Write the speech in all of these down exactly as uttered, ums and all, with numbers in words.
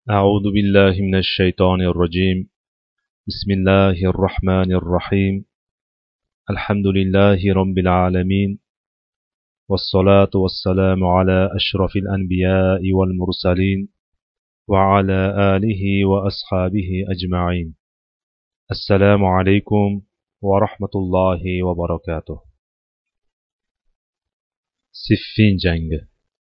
أعوذ بالله من الشيطان الرجيم. بسم الله الرحمن الرحيم. الحمد لله رب العالمين، والصلاة والسلام على أشرف الأنبياء والمرسلين وعلى آله وأصحابه أجمعين. السلام عليكم ورحمة الله وبركاته. Siffin jangi.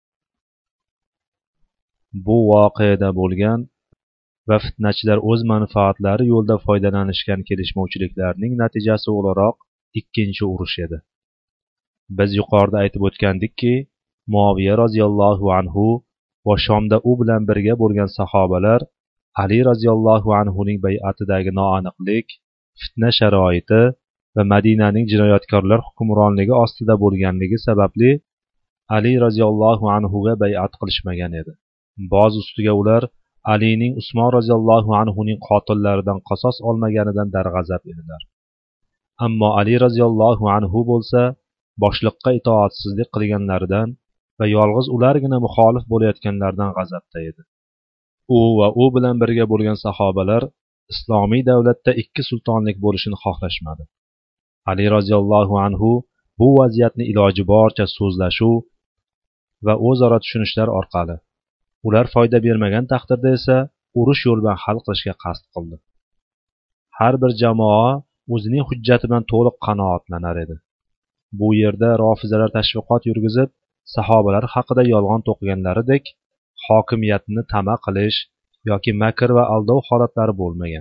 Bu voqeada bo'lgan va fitnachilar o'z manfaatlari yo'lida foydalanishgan kelishmovchiliklarning natijasi o'laroq ikkinchi urush edi. Biz yuqorida aytib o'tgandikki, Muaviya roziyallohu anhu va Shomda u bilan birga bo'lgan sahobalar Ali roziyallohu anhuning bay'atidagi noaniqlik, fitna sharoiti va Madinaning jinoyatkorlar hukmronligi ostida bo'lganligi sababli Ali roziyallohu anhuga bay'at qilishmagan edi. Boz ustiga ular Alining Usmon roziyallohu anhuning qotillaridan qasos olmaganidan darg'azab edilar. Ammo Ali roziyallohu anhu bo'lsa, boshliqqa itoatsizlik qilganlaridan va yolg'iz ulargina muxolif bo'layotganlardan g'azabda edi. U va u bilan birga bo'lgan sahobalar islomiy davlatda ikki sultonlik bo'lishini xohlashmadi. Ali roziyallohu anhu bu vaziyatni iloji boricha so'zlashuv va o'zaro tushunishlar orqali, ular foyda bermagan taqdirda esa urush yo'li bilan hal qilishga qasd qildi. Har bir jamoa o'zining hujjati bilan to'liq qanoatlanar edi. Bu yerda rofizalar tashviqot yurgizib, sahobalar haqida yolg'on to'qiganlaridek hokimiyatni tama qilish yoki makr va aldov holatlari bo'lmagan.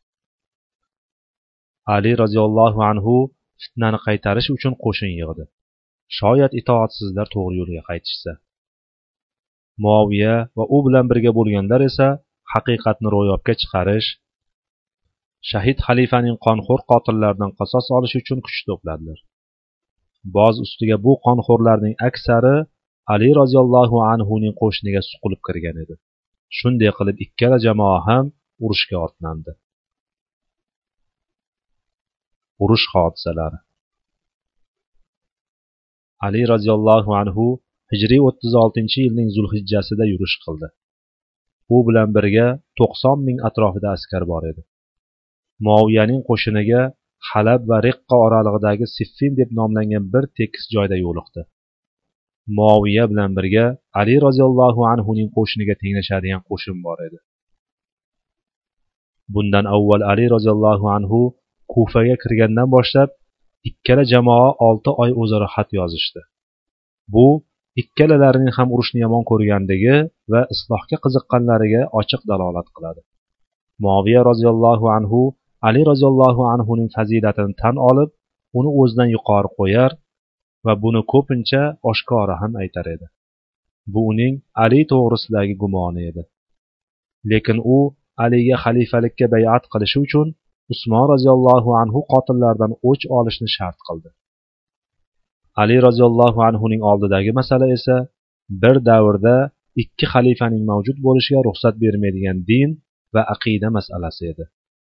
Ali roziyallohu anhu fitnani qaytarish uchun qo'shin yig'di. Shoyat itoatsizlar to'g'ri yo'lga qaytishsa. Muaviya va u bilan birga bo'lganlar esa haqiqatni ro'yobga chiqarish, shahid xalifaning qonxo'r qotillaridan qasos olish uchun kuch to'pladilar. Boz ustiga bu qonxo'rlarning aksari Ali roziyallohu anhuning qo'shiniga suqilib kirgan edi. Shunday qilib ikkala jamoa ham urushga otlandi. Urush hodisalari. Ali roziyallohu anhu Hijriy o'ttiz oltinchi yilning Zulhijjasida yurish qildi. U bilan birga to'qson ming atrofida askar bor edi. Muaviyaning qo'shiniga Halab va Riqqa oralig'idagi Siffin deb nomlangan bir tekis joyda yo'liqdi. Muaviya bilan birga Ali roziyallohu anhuning qo'shiniga tenglashadigan qo'shin bor edi. Bundan avval Ali roziyallohu anhu Kufaga kirgandan boshlab ikkala jamoa olti oy o'zaro xat yozishdi. Bu ikkalalarining ham urushni yomon ko'rganligi va islohga qiziqqanlariga ochiq dalolat qiladi. Muaviya roziyallohu anhu Ali roziyallohu anhuning fazilatini tan olib, uni o'zidan yuqori qo'yar va buni ko'pincha oshkora ham aytar edi. Bu uning Ali to'g'risidagi gumoni edi. Lekin u Aliga xalifalikka bay'at qilishi uchun Usmon roziyallohu anhu qotillaridan o'ch olishni shart qildi. Ali roziyallohu anhuning oldidagi masala esa bir davrda ikki xalifaning mavjud bo'lishiga ruxsat bermaydigan din va aqida masalasi edi.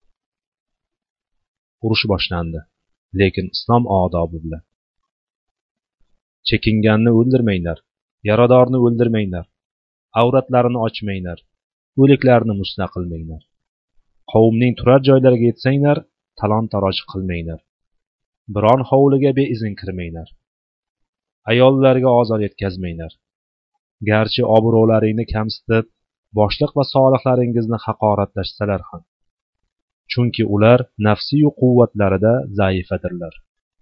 Urush boshlandi, lekin islom odobi bilan. Chekinganni o'ldirmanglar, yaradorni o'ldirmanglar, avratlarini ochmanglar, o'liklarni musna qilmanglar. Qavmning turar joylariga yetsanglar, talon-taroj qilmanglar. Biron hovliga beizn kirmanglar. Ayollarga ozor yetkazmanglar. Garchi obro'laringni kamsitib, boshliq va solihlaringizni haqoratlashsalar ham. Chunki ular nafsiy quvvatlarida zaifadirlar.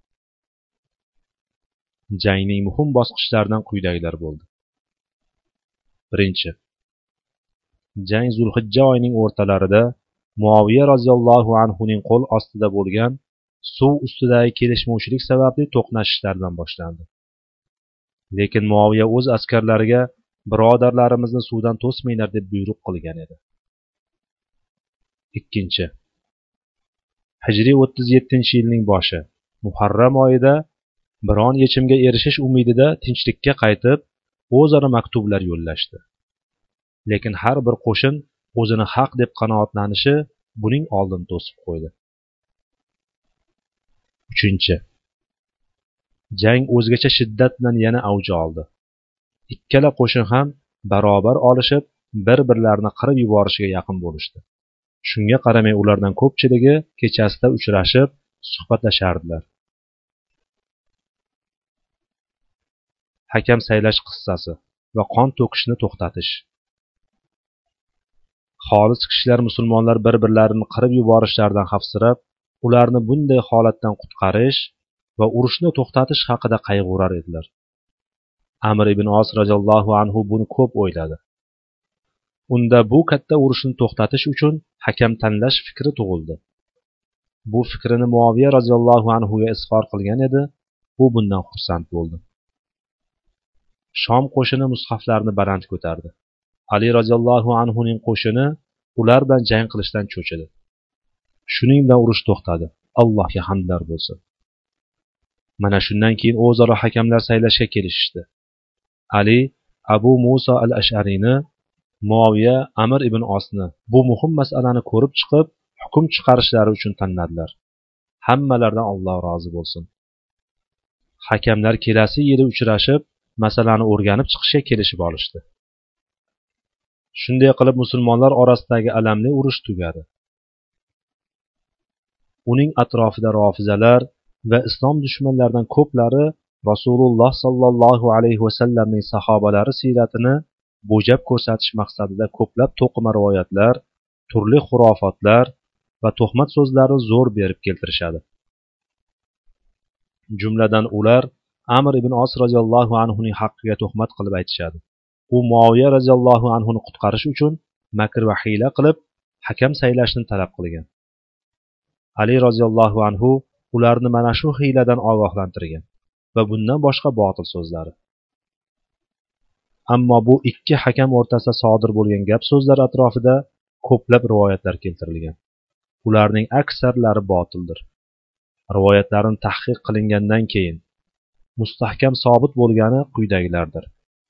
Jangning muhim bosqichlaridan quyidagilar bo'ldi. Birinchi. Jang Zulhijja oyining o'rtalarida Muaviya roziyallohu anhuning qo'l ostida bo'lgan suv ustidagi kelishmovchilik sababli to'qnashishlardan boshlandi. Lekin Muaviya o'z askarlariga birodarlarimizni suvdan to'smanglar deb buyruq qilgan edi. Ikkinchi. Hijriy o'ttiz yettinchi yilning boshi, Muharram oyida biron yechimga erishish umidida tinchlikka qaytib, o'zaro maktublar yo'llashdi. Lekin har bir qo'shin o'zini haq deb qanoatlanishi buning oldini to'sib qo'ydi. Uchinchi. Jang o'zgacha shiddat bilan yana avj oldi. Ikkala qo'shin ham barobar olishib, bir-birlarini qirib yuborishiga yaqin bo'lishdi. Shunga qaramay ulardan ko'pchiligi kechasida uchrashib, suhbatlashardilar. Hakam saylash qissasi va qon to'kishni to'xtatish. Xolis kishilar musulmonlar bir-birlarini qirib yuborishlaridan xavfsirab, ularni bunday holatdan qutqarish va urushni to'xtatish haqida qayg'urar edilar. Amr ibn Os radhiyallohu anhu buni ko'p o'yladi. Unda bu katta urushni to'xtatish uchun hakam tanlash fikri tug'ildi. Bu fikrini Muaviya radhiyallohu anhu ga izhor qilgan edi. U bundan xursand bo'ldi. Shom qo'shini mushaflarni baland ko'tardi. Ali radhiyallohu anhu ning qo'shini ular bilan jang qilishdan cho'chidi. Shuning bilan urush to'xtadi. Allohga hamdlar bo'lsin. Mana shundan keyin o'zaro hakamlar saylashga kelishdi. Ali Abu Musa al-Ash'ariyni, Muaviya Amr ibn Osni bu muhim masalani ko'rib chiqib, hukm chiqarishlari uchun tanladilar. Hammalaridan Alloh rozi bo'lsin. Hakamlar kelasi yili uchrashib, masalani o'rganib chiqishga kelishib olishdi. Shunday qilib musulmonlar orasidagi alamli urush tugadi. Uning atrofida rofizalar va islom dushmanlaridan ko'plari Rasululloh sallallohu alayhi vasallamning sahobalari siyratini bo'jab ko'rsatish maqsadida ko'plab to'qima rivoyatlar, turli xurofotlar va tuhmat so'zlarni zo'r berib keltirishadi. Jumladan ular Amr ibn Os radhiyallohu anhu ning haqqiga tuhmat qilib aytishadi. U Muaviya radhiyallohu anhu ni qutqarish uchun makr va hiyla qilib hakam saylashni talab qilgan. Ali radhiyallohu anhu ularni mana shu hiyladan ogohlantirgan va bundan boshqa botil so'zlari. Ammo bu ikki hakam o'rtasida sodir bo'lgan gap so'zlar atrofida ko'plab rivoyatlar keltirilgan. Ularning aksarlari botildir. Rivoyatlarning tahqiq qilingandan keyin mustahkam sobit bo'lgani quyidagilardir.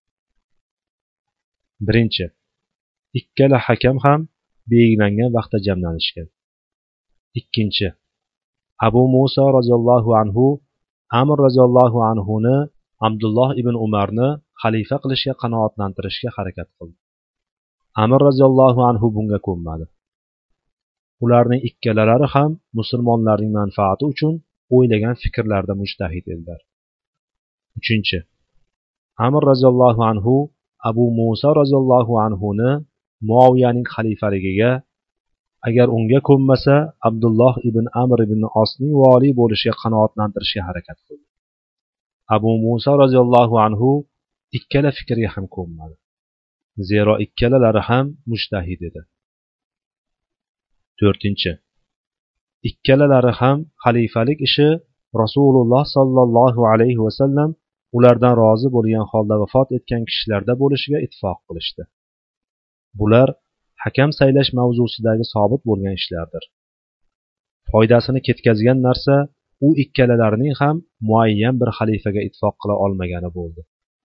Birinchi, ikkala hakam ham belgilangan vaqtda jamlanishgan. Ikkinchi, Abu Musa radhiyallohu anhu Amr radhiyallohu anhu ni Abdulloh ibn Umarni xalifa qilishga qanoatlantirishga harakat qildi. Amr radhiyallohu anhu bunga ko'nmadi. Ularning ikkalalari ham musulmonlarning manfaati uchun o'ylagan fikrlarda mujtahid edilar. Uchinchi, Amr radhiyallohu anhu Abu Musa radhiyallohu anhu ni Muaviyaning xalifaligiga, agar unga ko'nmasa, Abdulloh ibn Amr ibn Osning vali bo'lishiga qanoatlantirishga harakat qildi. Abu Musa radhiyallohu anhu ikkala fikrga ham ko'nmadi. Zero ikkalalari ham mujtahid edi. To'rtinchi, ikkalalari ham xalifalik ishi Rasululloh sallallohu alayhi va sallam ulardan rozi bo'lgan holda vafot etgan kishilarda bo'lishiga ittifoq qilishdi. Bular hakam saylash mavzusidagi sobit bo'lgan ishlardir. Foydasini ketkazgan narsa u ikkalalarining ham muayyan bir xalifaga ittifoq qila olmagani bo'ldi.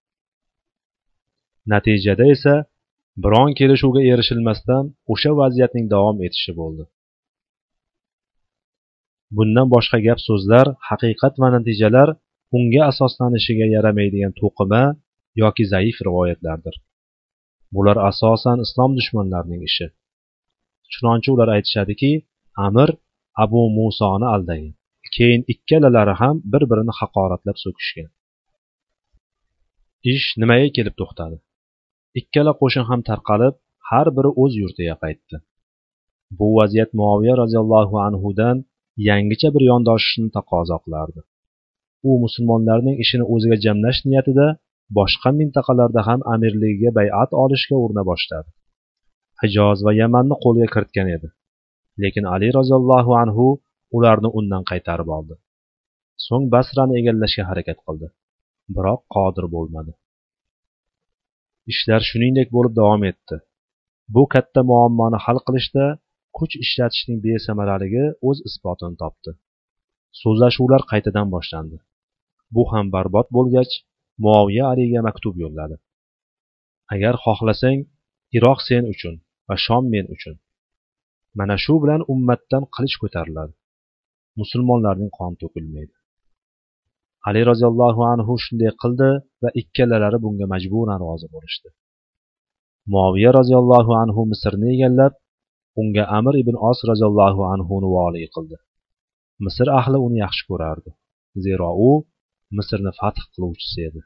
Natijada esa biron kelishuvga erishilmasdan o'sha vaziyatning davom etishi bo'ldi. Bundan boshqa gap so'zlar, haqiqat va natijalar unga asoslanishiga yaramaydigan to'qima yoki zaif rivoyatlardir. Bular asosan islom dushmanlarining ishi. Chunonchi ular aytishadiki, Amr Abu Musoni aldagan. Keyin ikkalalari ham bir-birini haqoratlab so'kishgan. Ish nimaga kelib to'xtadi? Ikkala qo'shin ham tarqalib, har biri o'z yurtiga qaytdi. Bu vaziyat Muaviya radhiyallohu anhu dan yangicha bir yondoshishni taqozo qilardi. U musulmonlarning ishini o'ziga jamlash niyatida boshqa mintaqalarda ham amirligiga bay'at olishga urina boshladi. Hijoz va Yamanni qo'lga kiritgan edi. Lekin Ali radhiyallohu anhu ularni undan qaytarib oldi. So'ng Basrani egallashga harakat qildi, biroq qodir bo'lmadi. Ishlar shuningdek bo'lib davom etdi. Bu katta muammoni hal qilishda kuch ishlatishning besamaraligi o'z isbotini topdi. So'zlashuvlar qaytadan boshlandi. Bu ham barbod bo'lgach, Muaviya Aliga maktub yo'lladi. Agar xohlasang, Iroq sen uchun va Shom men uchun. Mana shu bilan ummatdan qilich ko'tariladi. Musulmonlarning qoni to'kilmaydi. Ali roziyallohu anhu shunday qildi va ikkalalari bunga majburan rozi bo'lishdi. Muaviya roziyallohu anhu Misrni egallab, unga Amr ibn Os roziyallohu anhuni vali qildi. Misr ahli uni yaxshi ko'rardi, zero u Misrni fath qiluvchisi edi.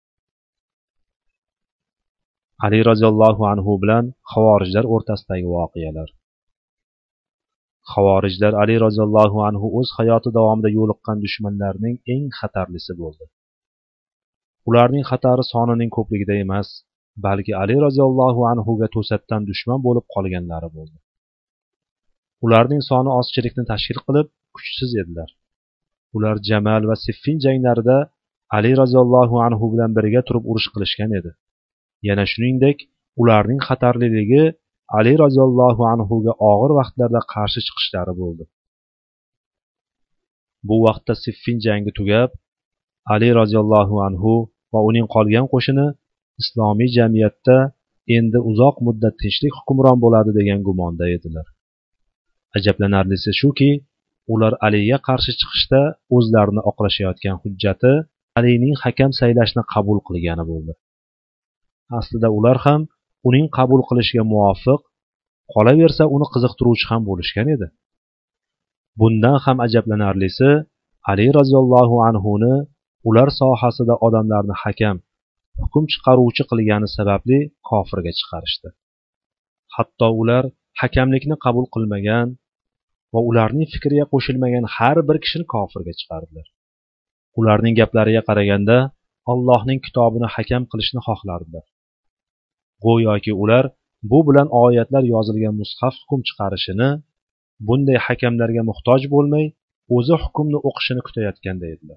Ali roziyallohu anhu bilan xavorijlar o'rtasidagi voqealar. Xavorijlar Ali roziyallohu anhu o'z hayoti davomida yo'liqqan dushmanlarning eng xatarlisi bo'ldi. Ularning xatari sonining ko'pligida emas, balki Ali roziyallohu anhuga to'satdan dushman bo'lib qolganlari bo'ldi. Ularning soni ozchilikni tashkil qilib, kuchsiz edilar. Ular Jamal va Siffin janglarida Ali roziyallohu anhu bilan birga turib urush qilishgan edi. Yana shuningdek, ularning xatarliligi Ali roziyallohu anhuga og'ir vaqtlarda qarshi chiqishlari bo'ldi. Bu vaqtda Siffin jangi tugab, Ali roziyallohu anhu va uning qolgan qo'shini islomiy jamiyatda endi uzoq muddat tinchlik hukmron bo'ladi degan gumonda edilar. Ajablanarlisi shuki, ular Aliga qarshi chiqishda o'zlarini oqlashayotgan hujjati Alining hakam saylashni qabul qilgani bo'ldi. Aslida ular ham uning qabul qilishiga muvofiq, qolaversa uni qiziqtiruvchi ham bo'lishgan edi. Bundan ham ajablanarlisi, Ali roziyallohu anhuni ular sohasida odamlarni hakam, hukm chiqaruvchi qilgani sababli kofirga chiqarishdi. Hatto ular hakamlikni qabul qilmagan va ularning fikriga qo'shilmagan har bir kishini kofirga chiqardilar. Ularning gaplariga qaraganda Allohning kitobini hakam qilishni xohlardilar. Go'yoki ular bu bilan oyatlar yozilgan mushaf hukm chiqarishini, bunday hakamlarga muhtoj bo'lmay, o'zi hukmni o'qishini kutayotganda edilar.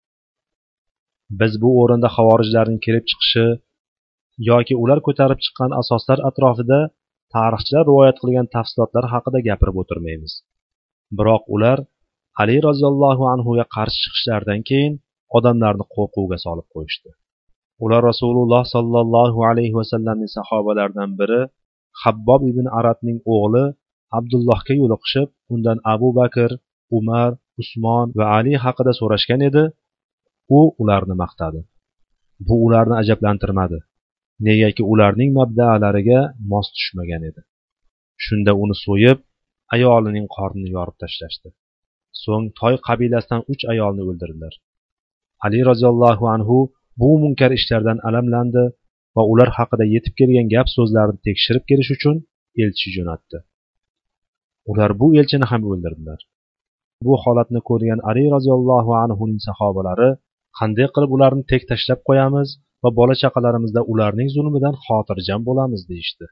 Biz bu o'rinda xavorijlarning kelib chiqishi yoki ular ko'tarib chiqqan asoslar atrofida tarixchilar rivoyat qilgan tafsilotlar haqida gapirib o'tirmaymiz. Biroq ular Ali roziyallohu anhuga qarshi chiqishlaridan keyin odamlarni qo'rquvga solib qo'yishdi. Ular Rasululloh sallallohu alayhi va sallamning sahobalaridan biri Habbob ibn Aratning o'g'li Abdullohga yo'liqishib, undan Abu Bakr, Umar, Usmon va Ali haqida so'rashgan edi. U ularni maqtadi. Bu ularni ajablantirmadi, negaki ularning mabda'alariga mos tushmagan edi. Shunda uni so'yib, ayolining qornini yorib tashlashdi. So'ng Toy qabilasidan uch ayolni o'ldirdilar. Ali roziyallohu anhu bu munkar ishlardan alamlandi va ular haqida yetib kelgan gap so'zlarni tekshirib kelish uchun elchi jo'natdi. Ular bu elchini ham o'ldirdilar. Bu holatni ko'rgan Ali roziyallohu anhuning sahobalari qanday qilib ularni tek tashlab qo'yamiz va bola chaqalarimizda ularning zulmidan xotirjam bo'lamiz deyishdi.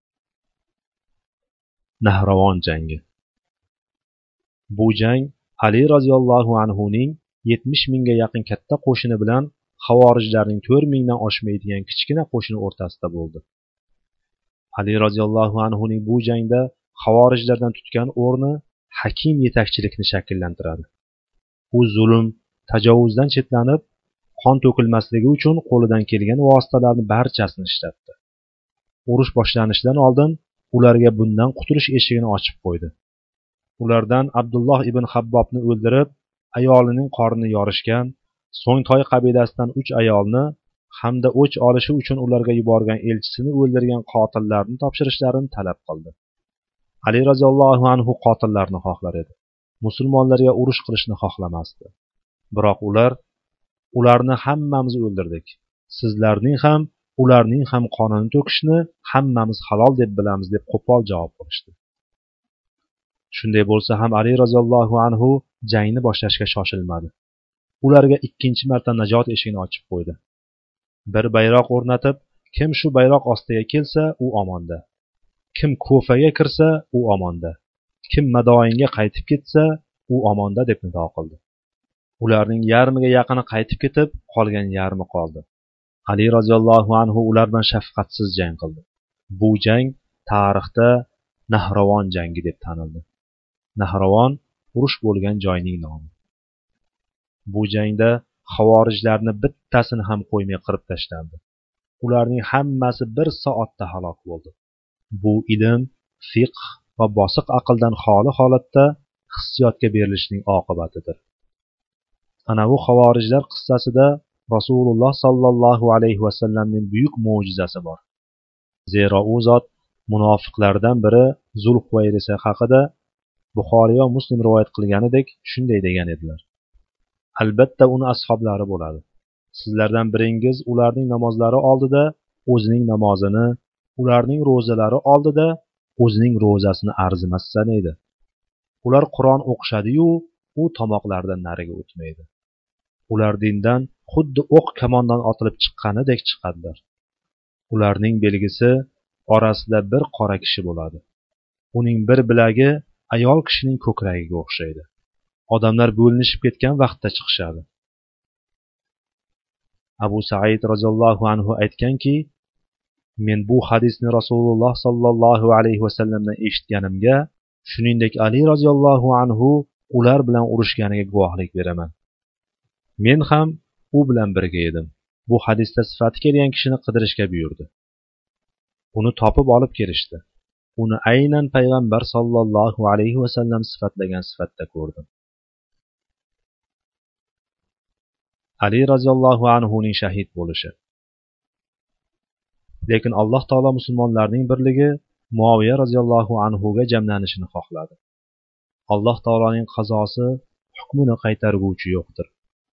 Nahravon jangi. Bu jang Ali roziyallohu anhuning yetmish mingga yaqin katta qo'shini bilan xavorijlarning to'rt mingdan oshmaydigan kichkina qo'shini o'rtasida bo'ldi. Ali roziyallohu anhuning bu jangda xavorijlardan tutgan o'rni hakim yetakchilikni shakllantiradi. U zulm, tajovuzdan chetlanib, qon to'kilmasligi uchun qo'lidan kelgan vositalarni barchasini ishlatdi. Urush boshlanishidan oldin ularga bundan qutulish eshigini ochib qo'ydi. Ulardan Abdulloh ibn Habbobni o'ldirib, ayolining qornini yorishgan, so'ng Toy qabilasidan uch ayolni hamda o'ch olishi uchun ularga yuborgan elchisini o'ldirgan qotillarni topshirishlarini talab qildi. Ali roziyallohu anhu qotillarni xohlar edi. Musulmonlarga urush qilishni xohlamasdi. Biroq ular ularni hammamiz o'ldirdik. Sizlarning ham, ularning ham qonini to'kishni hammamiz halol deb bilamiz deb qo'pol javob berishdi. Shunday bo'lsa ham Ali roziyallohu anhu jangni boshlashga shoshilmadi. Ularga ikkinchi marta najot eshigini ochib qo'ydi. Bir bayroq o'rnatib, kim shu bayroq ostiga kelsa, u omonda. Kim Kufaga kirsa, u omonda. Kim Madoinga qaytib ketsa, u omonda deb nido qildi. Ularning yarmiga yaqini qaytib ketib, qolgan yarmi qoldi. Ali roziyallohu anhu ular bilan shafqatsiz jang qildi. Bu jang tarixda Nahravon jangi deb tanildi. Nahravon urush bo'lgan joyning nomi. Bu jangda xavorijlarni bittasini ham qo'ymay qirib tashlandi. Ularning hammasi bir soatda halok bo'ldi. Bu ilm, fiqh va bosiq aqldan xoli holatda hissiyotga berilishning oqibatidir. Ana bu xavorijlar qissasida Rasululloh sallallohu alayhi va sallamning buyuk mo'jizasi bor. Zero u zot munofiqlardan biri Zulhuvayris haqida Buxoriy va Muslim rivoyat qilganidek shunday degan edilar: albatta uni ashablari bo'ladi. Sizlardan biringiz ularning namozlari oldida o'zining namozini, ularning ro'zalari oldida o'zining ro'zasini arzimas sanaydi. Ular Qur'on o'qishadi-yu, u tomoqlaridan nariga o'tmaydi. Ular dindan xuddi o'q kamondan otilib chiqqanidek chiqadilar. Ularning belgisi orasida bir qora kishi bo'ladi. Uning bir bilagi ayol kishining ko'kragiga o'xshaydi. Odamlar bo'linishib ketgan vaqtda chiqishadi. Abu Said roziyallohu anhu aytganki, men bu hadisni Rasululloh sallallohu alayhi vasallamdan eshitganimga, shuningdek Ali roziyallohu anhu ular bilan urushganiga guvohlik beraman. Men ham u bilan birga edim. Bu hadisda sifati kelgan kishini qidirishga buyurdi. Uni topib olib kelishdi. Uni aynan payg'ambar sallallohu alayhi vasallam sifatlagan sifatda ko'rdim. Ali roziyallohu anhuning shahid bo'lishi. Lekin Alloh taolo musulmonlarning birligi Muaviya roziyallohu anhuga jamlanishini xohladi. Alloh taoloning qazosi hukmini qaytarguvchi yo'qdir.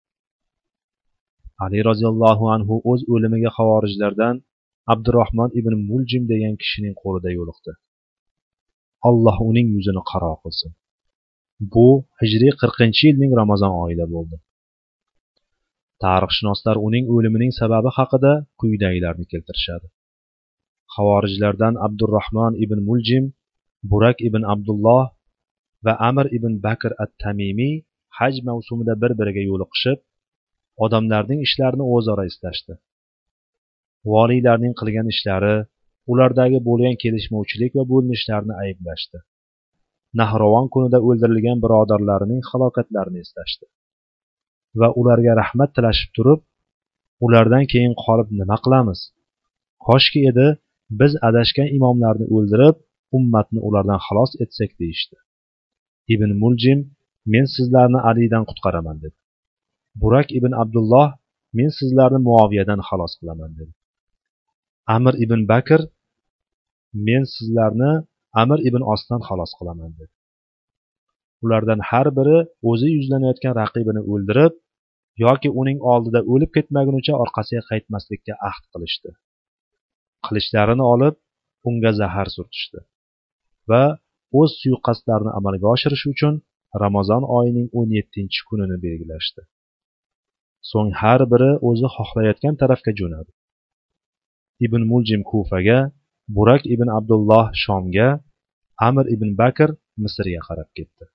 Ali roziyallohu anhu o'z o'limiga xavorijlardan Abdurrahmon ibn Muljim degan kishining qo'lida yo'liqdi. Alloh uning yuzini qaro qilsin. Bu hijriy qirqinchi yilning Ramazon oyida bo'ldi. Tarixshunoslar uning o'limining sababi haqida quyidagilarni keltirishadi. Xavorijlardan Abdurrahmon ibn Muljim, Burak ibn Abdulloh va Amr ibn Bakr at-Tamimiy haj mavsumida bir-biriga yo'liqishib, odamlarning ishlarini o'zaro eslashdi. Voliylarning qilgan ishlari, ulardagi bo'lgan kelishmovchilik va bo'linishlarni ayblashdi. Nahrovon kunida o'ldirilgan birodarlarining halokatlarini eslashdi. Va ularga rahmat tilashib turib, ulardan keyin qolib nima qilamiz? Koshki edi, biz adashgan imomlarni o'ldirib, ummatni ulardan xalos etsak deyishdi. Ibn Muljim, men sizlarni Alidan qutqaraman dedi. Burak ibn Abdulloh, men sizlarni Muaviyadan xalos qilaman dedi. Amr ibn Bakr, men sizlarni Amr ibn Osdan xalos qilaman dedi. Ulardan har biri o'zi yuzlanayotgan raqibini o'ldirib yoki uning oldida o'lib ketmagunicha orqasiga qaytmaslikka ahd qilishdi. Qilichlarini olib, unga zahar surtishdi va o'z suiqasdlarini amalga oshirish uchun Ramazon oyining o'n yettinchi kunini belgilashdi. So'ng har biri o'zi xohlayotgan tarafga jo'nadi. Ibn Muljim Kufaga, Burak ibn Abdulloh Shomga, Amr ibn Bakr Misrga qarab ketdi.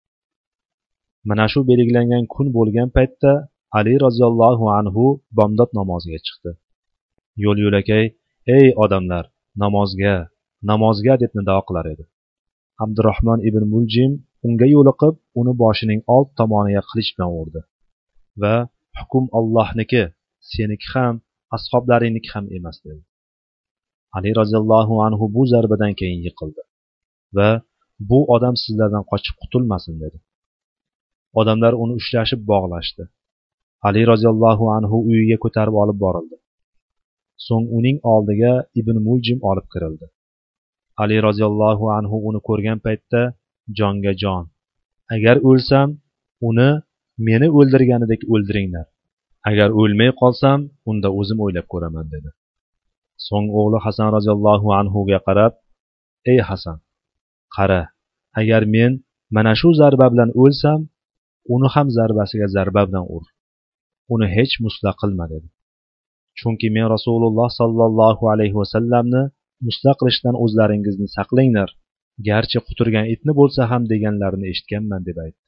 Mana shu belgilangan kun bo'lgan paytda Ali roziyallohu anhu bomdod namoziga chiqdi. Yo'l-yo'lakay, ey odamlar, namozga, namozga deb nido qilar edi. Abdurrahmon ibn Muljim unga yo'liqib, uni boshining old tomoniga qilich bilan urdi va hukm Allohniki, seniki ham, ashoblaringniki ham emas dedi. Ali roziyallohu anhu bu zarbadan keyin yiqildi va bu odam sizlardan qochib qutulmasin dedi. Odamlar uni ushlashib bog'lashdi. Ali roziyallohu anhu uyiga ko'tarib olib borildi. So'ng uning oldiga Ibn Muljim olib kirildi. Ali roziyallohu anhu uni ko'rgan paytda jonga jon, agar o'lsam, uni meni o'ldirganidek o'ldiringlar. Agar o'lmay qolsam, unda o'zim o'ylab ko'raman dedi. So'ng o'g'li Hasan roziyallohu anhuga qarab, ey Hasan, qara, agar men mana shu zarba bilan o'lsam, uni ham zarbasiga zarba bilan ur. Uni hech musla qilma dedi. Chunki men Rasululloh sallallohu alayhi vasallamni musla qilishdan o'zlaringizni saqlanglar, garchi quturgan itni bo'lsa ham deganlarini eshitganman deb aytdi.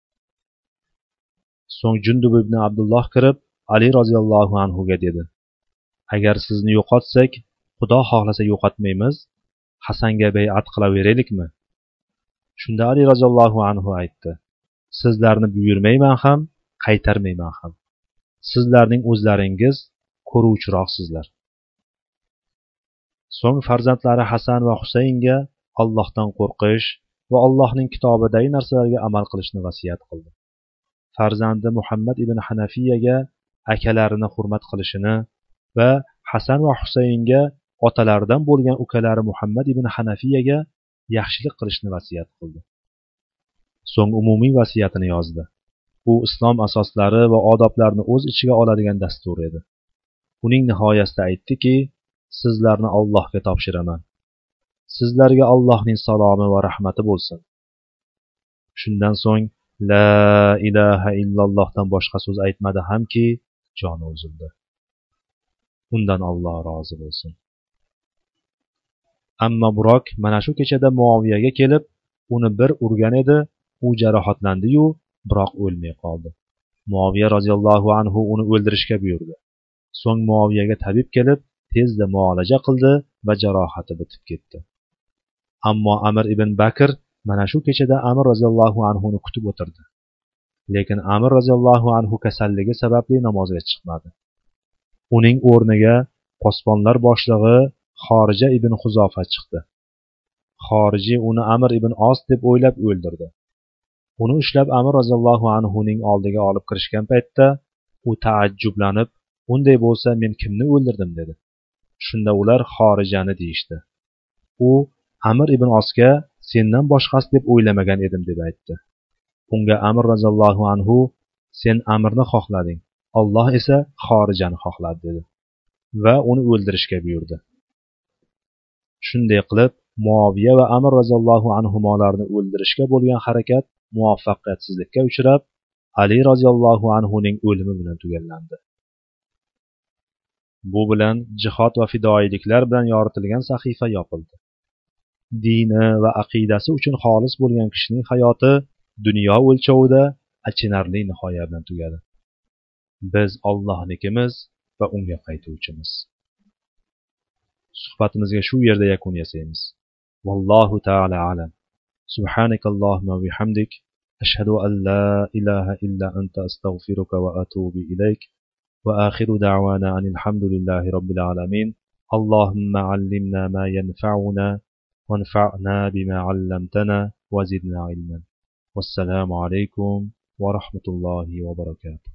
So'ng Jundub ibn Abdulloh kirib, Ali roziyallohu anhuga dedi: agar sizni yo'qotsak, Xudo xohlasa yo'qotmaymiz, Hasanga bay'at qilaveraylikmi? Shunda Ali roziyallohu anhu aytdi: sizlarni buyurmayman ham, qaytarmayman ham. Sizlarning o'zlaringiz ko'ruvchiroqsizlar. So'ng farzandlari Hasan va Husaynga Allohdan qo'rqish va Allohning kitobidagi narsalarga amal qilishni vasiyat qildi. Farzandi Muhammad ibn Hanafiyaga akalarini hurmat qilishini va Hasan va Husaynga otalaridan bo'lgan ukalari Muhammad ibn Hanafiyaga yaxshilik qilishni vasiyat qildi. So'ng umumiy vasiyatini yozdi. U islom asoslari va odoblarini o'z ichiga oladigan dastur edi. Uning nihoyasida aytdiki, sizlarni Allohga topshiraman. Sizlarga Allohning salomi va rahmati bo'lsin. Shundan so'ng la ilaha illallohdan boshqa so'z aytmadi hamki, joni uzildi. Undan Alloh rozi bo'lsin. Ammo Burok mana shu kechada Muoviyaga kelib, uni bir urgan edi, u jarohatlandi-yu, biroq o'lmay qoldi. Muoviya roziyallohu anhu uni o'ldirishga buyurdi. So'ng Muoviyaga tabib kelib, tezda muolaja qildi va jarohati bitib ketdi. Ammo Amr ibn Bakr mana shu kechada Amr roziyallohu anhu ni kutib o'tirdi. Lekin Amr roziyallohu anhu kasalligi sababli namozga chiqmadi. Uning o'rniga posbonlar boshlig'i Xorija ibn Xuzofa chiqdi. Xoriji uni Amr ibn Os deb o'ylab o'ldirdi. Uni ushlab Amr roziyallohu anhu ning oldiga olib kirishgan paytda u taajjublanib, "Unday bo'lsa men kimni o'ldirdim?" dedi. Shunda ular Xorijani deyishdi. U Amr ibn Osga "Sendan boshqasi deb o'ylamagan edim" deb aytdi. Unga Amr roziyallohu anhu "Sen Amrni xohlading, Alloh esa Xorijani xohladi" dedi va uni o'ldirishga buyurdi. Shunday qilib, Muoviya va Amr roziyallohu anhumolarni o'ldirishga bo'lgan harakat muvaffaqiyatsizlikka uchrab, Ali roziyallohu anhu ning o'limi bilan tugallandi. Bu bilan jihod va fidoiliklar bilan yoritilgan sahifa yopildi. Dini va aqidasi uchun xolis bo'lgan kishining hayoti dunyo o'lchovida achinarli nihoya bilan tugadi. Biz Allohnikimiz va unga qaytuvchimiz. Suhbatimizga shu yerda yakun yasaymiz. Vallohu ta'ala alam. Subhanakallohumma va bihamdik, ashhadu an la ilaha illa anta astaghfiruka va atubu ilayk. Wa akhiru da'wana anil hamdulillahi rabbil alamin. Allahumma 'allimna ma yanfa'una wanfa'na bima 'allamtana wa zidna ilman. Wassalamu alaykum wa rahmatullahi wa barakatuh.